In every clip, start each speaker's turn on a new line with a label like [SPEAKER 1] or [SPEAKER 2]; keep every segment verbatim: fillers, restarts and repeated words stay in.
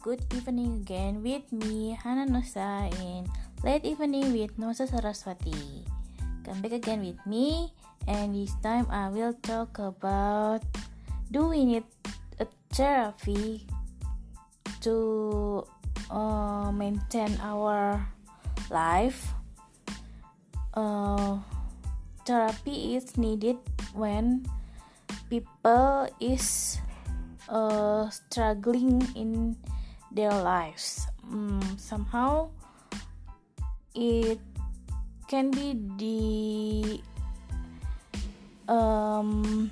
[SPEAKER 1] Good evening again with me, Hana Nusa, in Late Evening with Nusa Saraswati. Come back again with me, and this time I will talk about, do we need a therapy to uh, maintain our life? Uh, therapy is needed when people is uh, struggling in their lives. Mm, somehow it can be the um,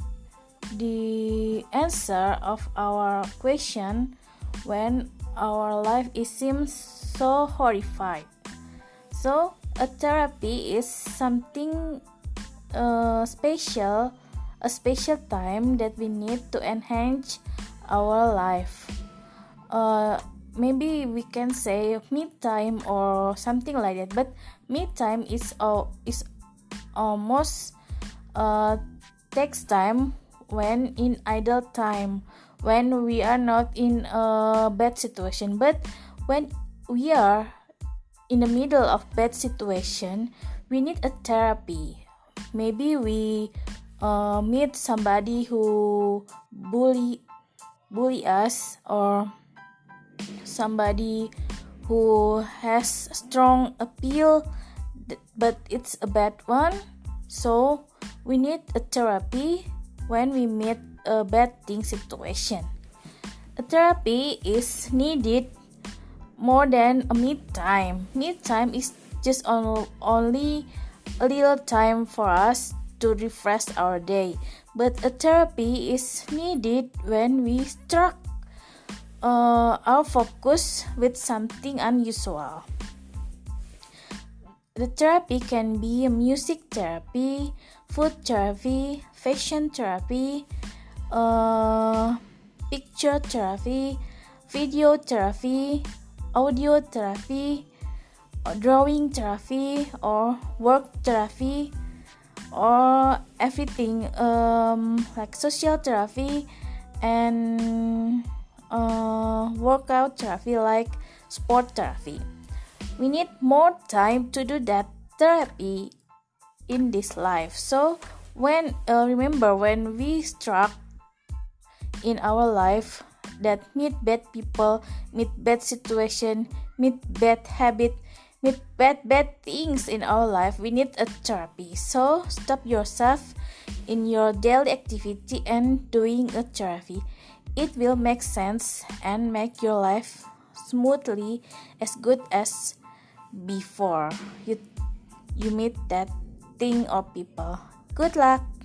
[SPEAKER 1] the answer of our question when our life is seems so horrified. So a therapy is something uh, special, a special time that we need to enhance our life. Uh, maybe we can say me time or something like that. But me time is uh, is almost uh, takes time when in idle time, when we are not in a bad situation. But when we are in the middle of bad situation, we need a therapy. Maybe we uh, meet somebody who bully bully us, or somebody who has strong appeal but it's a bad one. So we need a therapy when we meet a bad thing situation. A therapy is needed more than a mid time. Mid time is just on, only a little time for us to refresh our day, but a therapy is needed when we struck uh, our focus with something unusual. The therapy can be music therapy, food therapy, fashion therapy, uh, picture therapy, video therapy, audio therapy, drawing therapy, or work therapy, or everything um, like social therapy and uh, workout therapy like sport therapy. We need more time to do that therapy in this life. So when uh, remember when we struck in our life that meet bad people, meet bad situation, meet bad habit, meet bad bad things in our life, we need a therapy. So stop yourself in your daily activity and doing a therapy. It will make sense and make your life smoothly as good as before you you meet that thing or people. Good luck.